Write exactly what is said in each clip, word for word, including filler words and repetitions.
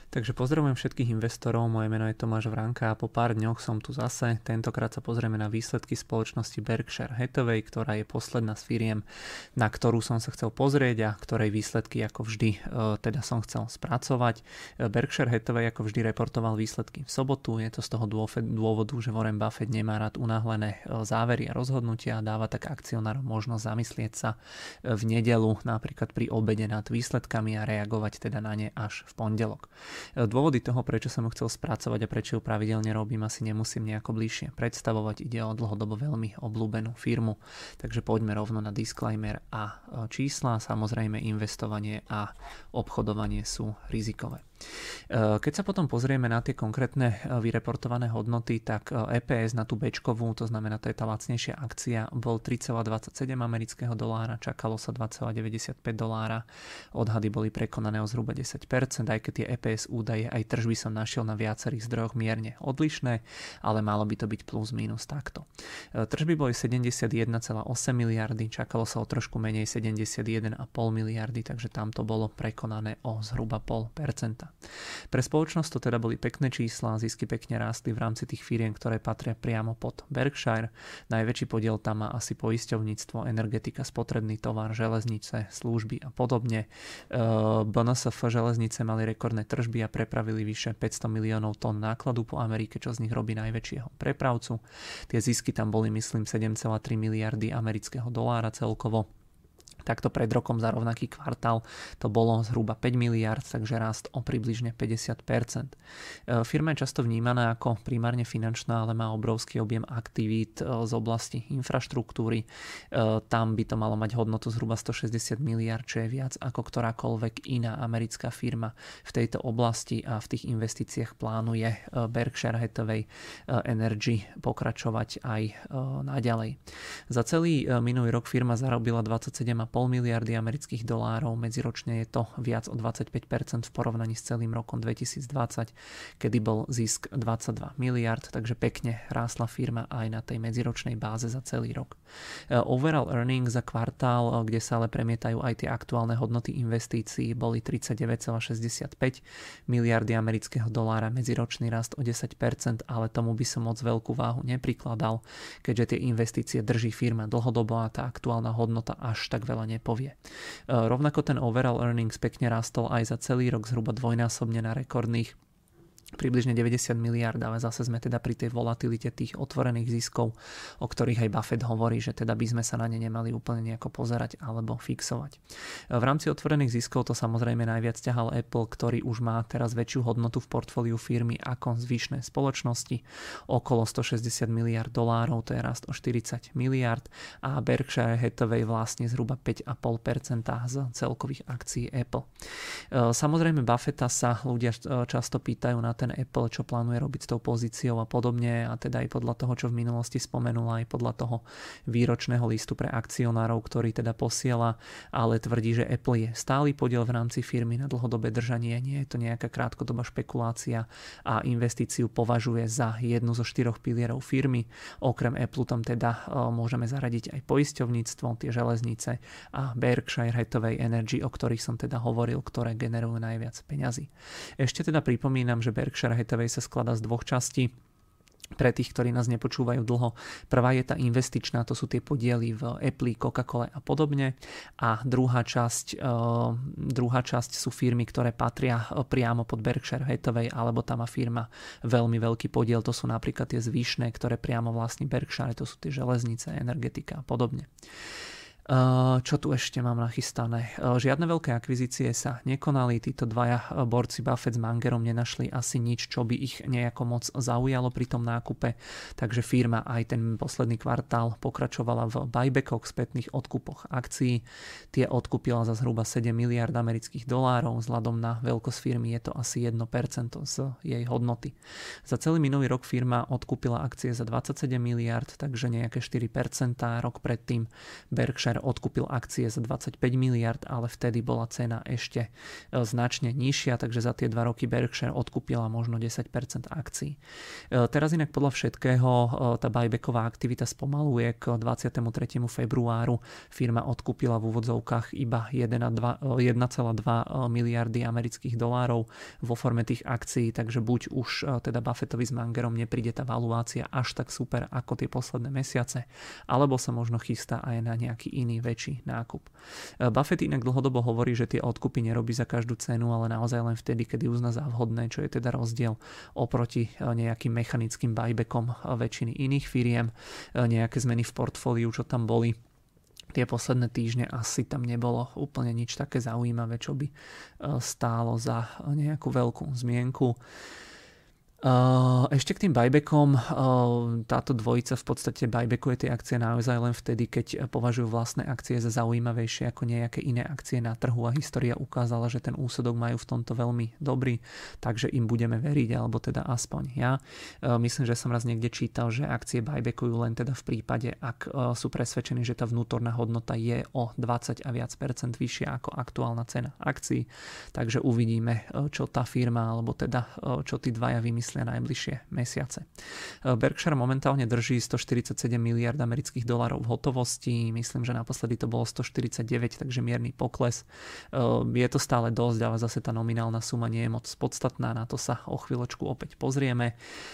Takže pozdravujem všetkých investorov, moje meno je Tomáš Vránka a po pár dňoch som tu zase. Tentokrát sa pozrieme na výsledky spoločnosti Berkshire Hathaway, ktorá je posledná z firiem, na ktorú som sa chcel pozrieť a ktorej výsledky ako vždy teda som chcel spracovať. Berkshire Hathaway ako vždy reportoval výsledky v sobotu, je to z toho dôvodu, že Warren Buffett nemá rád unáhlené závery a rozhodnutia a dáva tak akcionárom možnosť zamyslieť sa v nedeľu napríklad pri obede nad výsledkami a reagovať teda na ne až v pondelok. Dôvody toho, prečo som ju chcel spracovať a prečo ju pravidelne robím, asi nemusím nejako bližšie predstavovať. Ide o dlhodobo veľmi obľúbenú firmu. Takže poďme rovno na disclaimer a čísla. Samozrejme investovanie a obchodovanie sú rizikové. Keď sa potom pozrieme na tie konkrétne vyreportované hodnoty, tak é pé es na tú bečkovú, to znamená to je tá lacnejšia akcia, bol tri celé dvadsaťsedem amerického dolára, čakalo sa dva celé deväťdesiatpäť dolára, odhady boli prekonané o zhruba desať percent, aj keď tie é pé es údaje aj tržby som našiel na viacerých zdrojoch mierne odlišné, ale malo by to byť plus minus takto. Tržby boli sedemdesiatjeden celé osem miliardy, čakalo sa o trošku menej sedemdesiatjeden celé päť miliardy, takže tam to bolo prekonané o zhruba nula celá päť percenta. Pre spoločnosť to teda boli pekné čísla, zisky pekne rástli v rámci tých firiem, ktoré patria priamo pod Berkshire. Najväčší podiel tam má asi poisťovníctvo, energetika, spotrebný tovar, železnice, služby a podobne. bé en es ef železnice mali rekordné tržby a prepravili vyše päťsto miliónov tón nákladu po Amerike, čo z nich robí najväčšieho prepravcu. Tie zisky tam boli, myslím, sedem celé tri miliardy amerického dolára celkovo. Takto pred rokom za rovnaký kvartál to bolo zhruba päť miliárd, takže rast o približne päťdesiat percent. Firma je často vnímaná ako primárne finančná, ale má obrovský objem aktivít z oblasti infraštruktúry. Tam by to malo mať hodnotu zhruba stošesťdesiat miliárd, čo je viac ako ktorákoľvek iná americká firma v tejto oblasti a v tých investíciách plánuje Berkshire Hathaway Energy pokračovať aj naďalej. Za celý minulý rok firma zarobila dvadsaťsedem celé päť miliardy amerických dolárov, medziročne je to viac o dvadsaťpäť percent v porovnaní s celým rokom dvetisícdvadsať, kedy bol zisk dvadsaťdva miliárd, takže pekne rástla firma aj na tej medziročnej báze za celý rok. Overall earnings za kvartál, kde sa ale premietajú aj tie aktuálne hodnoty investícií, boli tridsaťdeväť celé šesťdesiatpäť miliardy amerického dolára, medziročný rast o desať percent, ale tomu by som moc veľkú váhu neprikladal, keďže tie investície drží firma dlhodobo a tá aktuálna hodnota až tak veľa nepovie. Rovnako ten overall earnings pekne rastol aj za celý rok zhruba dvojnásobne na rekordných približne deväťdesiat miliárd, ale zase sme teda pri tej volatilite tých otvorených ziskov, o ktorých aj Buffett hovorí, že teda by sme sa na ne nemali úplne nejako pozerať alebo fixovať. V rámci otvorených ziskov to samozrejme najviac ťahal Apple, ktorý už má teraz väčšiu hodnotu v portfóliu firmy ako zvyšné spoločnosti, okolo stošesťdesiat miliárd dolárov, to je rast o štyridsať miliárd a Berkshire Hathaway vlastne zhruba päť celé päť percent z celkových akcií Apple. Samozrejme Buffetta sa ľudia často pýtajú na ten Apple, čo plánuje robiť s tou pozíciou a podobne, a teda aj podľa toho, čo v minulosti spomenula, aj podľa toho výročného listu pre akcionárov, ktorý teda posiela, ale tvrdí, že Apple je stály podiel v rámci firmy na dlhodobé držanie, nie je to nejaká krátkodobá špekulácia a investíciu považuje za jednu zo štyroch pilierov firmy. Okrem Apple tam teda môžeme zaradiť aj poisťovníctvo, tie železnice a Berkshire Hathaway Energy, o ktorých som teda hovoril, ktoré generujú najviac peňazí. Ešte teda pripomínam, že Berkshire Hathaway sa skladá z dvoch častí. Pre tých, ktorí nás nepočúvajú dlho, prvá je tá investičná, to sú tie podiely v Apple, Coca-Cole a podobne, a druhá časť, uh, druhá časť sú firmy, ktoré patria priamo pod Berkshire Hathaway, alebo tam má firma veľmi veľký podiel, to sú napríklad tie zvyšné, ktoré priamo vlastní Berkshire, to sú tie železnice, energetika a podobne. Čo tu ešte mám nachystané? Žiadne veľké akvizície sa nekonali, títo dvaja borci Buffett s Mangerom nenašli asi nič, čo by ich nejako moc zaujalo pri tom nákupe, takže firma aj ten posledný kvartál pokračovala v buybackoch, spätných odkupoch akcií. Tie odkúpila za zhruba sedem miliárd amerických dolárov, vzhľadom na veľkosť firmy je to asi jedno percento z jej hodnoty. Za celý minulý rok firma odkúpila akcie za dvadsaťsedem miliárd, takže nejaké štyri percentá, rok predtým Berkshire Berkshire odkúpil akcie za dvadsaťpäť miliárd, ale vtedy bola cena ešte značne nižšia, takže za tie dva roky Berkshire odkúpila možno desať percent akcií. Teraz inak podľa všetkého tá buybacková aktivita spomaluje. K dvadsiatemu tretiemu februáru firma odkúpila v úvodzovkách iba jeden celá dva miliardy amerických dolárov vo forme tých akcií, takže buď už teda Buffettovi s Mangerom nepríde tá valuácia až tak super ako tie posledné mesiace, alebo sa možno chystá aj na nejaký iný väčší nákup. Buffett inak dlhodobo hovorí, že tie odkupy nerobí za každú cenu, ale naozaj len vtedy, kedy uzná za vhodné, čo je teda rozdiel oproti nejakým mechanickým buybackom väčšiny iných firiem. Nejaké zmeny v portfóliu, čo tam boli tie posledné týždne, asi tam nebolo úplne nič také zaujímavé, čo by stálo za nejakú veľkú zmienku. Ešte k tým buybackom, táto dvojica v podstate buybackuje tie akcie naozaj len vtedy, keď považujú vlastné akcie za zaujímavejšie ako nejaké iné akcie na trhu a história ukázala, že ten úsudok majú v tomto veľmi dobrý, takže im budeme veriť, alebo teda aspoň ja. Myslím, že som raz niekde čítal, že akcie buybackujú len teda v prípade, ak sú presvedčení, že tá vnútorná hodnota je o dvadsať a viac percent vyššia ako aktuálna cena akcií, takže uvidíme, čo tá firma, alebo teda čo tí dvaja vymyslia najbližšie mesiace. Berkshire momentálne drží stoštyridsaťsedem miliárd amerických dolárov v hotovosti. Myslím, že naposledy to bolo stoštyridsaťdeväť, takže mierny pokles. Je to stále dosť, ale zase tá nominálna suma nie je moc podstatná. Na to sa o chvíľočku opäť pozrieme.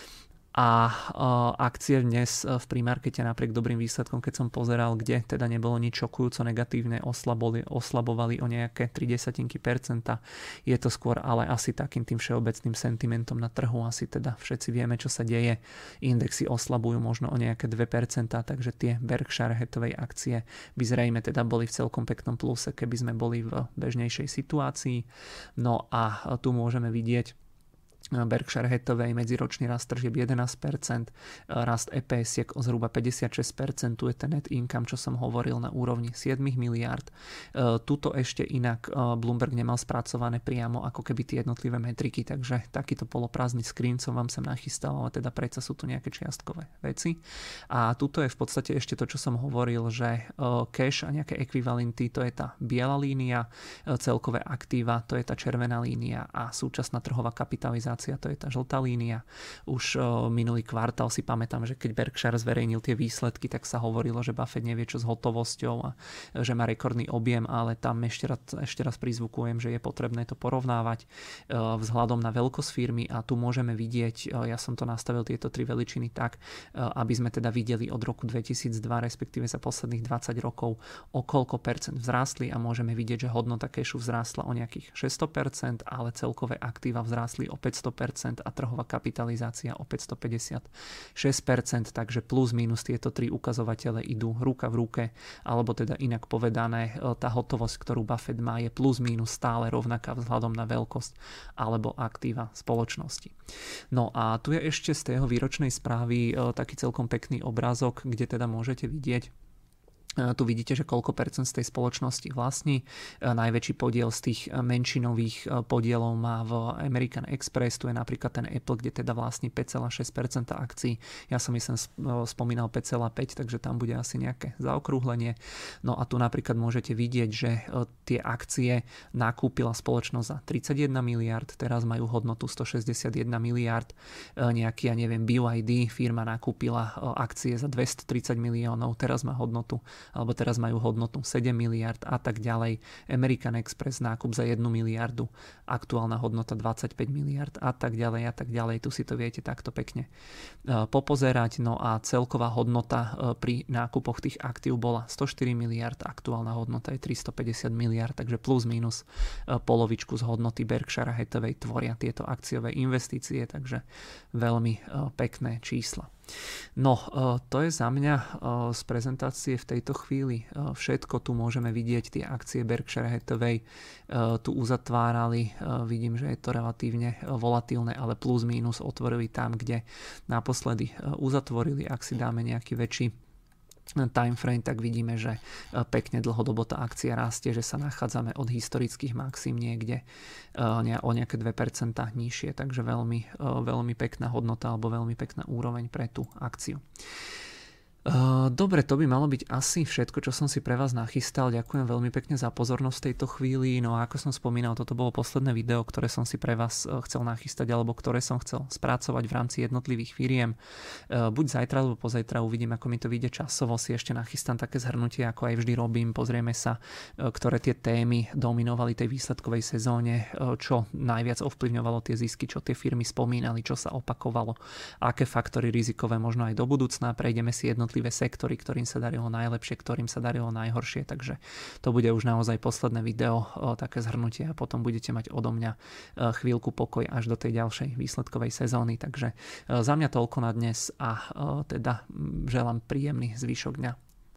A akcie dnes v primarkete napriek dobrým výsledkom, keď som pozeral, kde teda nebolo nič šokujúco negatívne, oslabovali, oslabovali o nejaké tri desatinky percenta. Je to skôr ale asi takým tým všeobecným sentimentom na trhu. Asi teda všetci vieme, čo sa deje. Indexy oslabujú možno o nejaké dve percentá, takže tie Berkshire Hathaway akcie by zrejme teda boli v celkom peknom pluse, keby sme boli v bežnejšej situácii. No a tu môžeme vidieť Berkshire Hathaway medziročný rast tržieb jedenásť percent, rast é pé es o zhruba päťdesiatšesť percent, tu je ten net income, čo som hovoril, na úrovni sedem miliárd. Tuto ešte inak Bloomberg nemal spracované priamo ako keby tie jednotlivé metriky, takže takýto poloprázdny screen som vám sem nachystal, ale teda predsa sú tu nejaké čiastkové veci. A tuto je v podstate ešte to, čo som hovoril, že cash a nejaké ekvivalenty, to je tá biela línia, celkové aktíva, to je tá červená línia a súčasná trhová kapitalizácia, to je tá žltá línia. Už uh, minulý kvartál si pamätám, že keď Berkshire zverejnil tie výsledky, tak sa hovorilo, že Buffett nevie čo s hotovosťou a že má rekordný objem, ale tam ešte raz, ešte raz prizvukujem, že je potrebné to porovnávať uh, vzhľadom na veľkosť firmy a tu môžeme vidieť, uh, ja som to nastavil tieto tri veličiny tak, uh, aby sme teda videli od roku dvetisícdva, respektíve za posledných dvadsať rokov, o koľko percent vzrástli a môžeme vidieť, že hodnota cashu vzrástla o nejakých šesťsto percent, ale celkové aktíva vzrástli o päťsto percent a trhová kapitalizácia o päťstopäťdesiatšesť percent, takže plus minus tieto tri ukazovatele idú ruka v ruke, alebo teda inak povedané, tá hotovosť, ktorú Buffett má, je plus minus stále rovnaká vzhľadom na veľkosť alebo aktíva spoločnosti. No a tu je ešte z tej výročnej správy taký celkom pekný obrázok, kde teda môžete vidieť, tu vidíte, že koľko percent z tej spoločnosti vlastní. Najväčší podiel z tých menšinových podielov má v American Express, tu je napríklad ten Apple, kde teda vlastní päť celá šesť percent akcií. Ja som myslím spomínal päť celá päť, takže tam bude asi nejaké zaokrúhlenie. No a tu napríklad môžete vidieť, že tie akcie nakúpila spoločnosť za tridsaťjeden miliárd, teraz majú hodnotu stošesťdesiatjeden miliárd. Nejaký, ja neviem, bé í dé firma nakúpila akcie za dvestotridsať miliónov, teraz má hodnotu alebo teraz majú hodnotu sedem miliárd a tak ďalej. American Express nákup za jednu miliardu, aktuálna hodnota dvadsaťpäť miliárd a tak ďalej a tak ďalej. Tu si to viete takto pekne popozerať. No a celková hodnota pri nákupoch tých aktív bola stoštyri miliárd, aktuálna hodnota je tristopäťdesiat miliárd, takže plus minus polovičku z hodnoty Berkshire Hathaway tvoria tieto akciové investície, takže veľmi pekné čísla. No, to je za mňa z prezentácie v tejto chvíli všetko. Tu môžeme vidieť tie akcie Berkshire Hathaway tu uzatvárali. Vidím, že je to relatívne volatilné, ale plus minus otvorili tam, kde naposledy uzatvorili. Ak si dáme nejaký väčší time frame, tak vidíme, že pekne dlhodobo tá akcia rastie, že sa nachádzame od historických maxim niekde o nejaké dve percentá nižšie, takže veľmi, veľmi pekná hodnota alebo veľmi pekná úroveň pre tú akciu. Dobre, to by malo byť asi všetko, čo som si pre vás nachystal. Ďakujem veľmi pekne za pozornosť v tejto chvíli. No a ako som spomínal, toto bolo posledné video, ktoré som si pre vás chcel nachystať, alebo ktoré som chcel spracovať v rámci jednotlivých firiem. Buď zajtra, alebo pozajtra uvidím, ako mi to vyjde časovo. Si ešte nachystám také zhrnutie, ako aj vždy robím. Pozrieme sa, ktoré tie témy dominovali tej výsledkovej sezóne, čo najviac ovplyvňovalo tie zisky, čo tie firmy spomínali, čo sa opakovalo, aké faktory rizikové možno aj do budúcna. Prejdeme si jednotlivé sektory, ktorým sa darilo najlepšie, ktorým sa darilo najhoršie, takže to bude už naozaj posledné video, také zhrnutie a potom budete mať odo mňa chvíľku pokoj až do tej ďalšej výsledkovej sezóny, takže za mňa toľko na dnes a teda želám príjemný zvyšok dňa.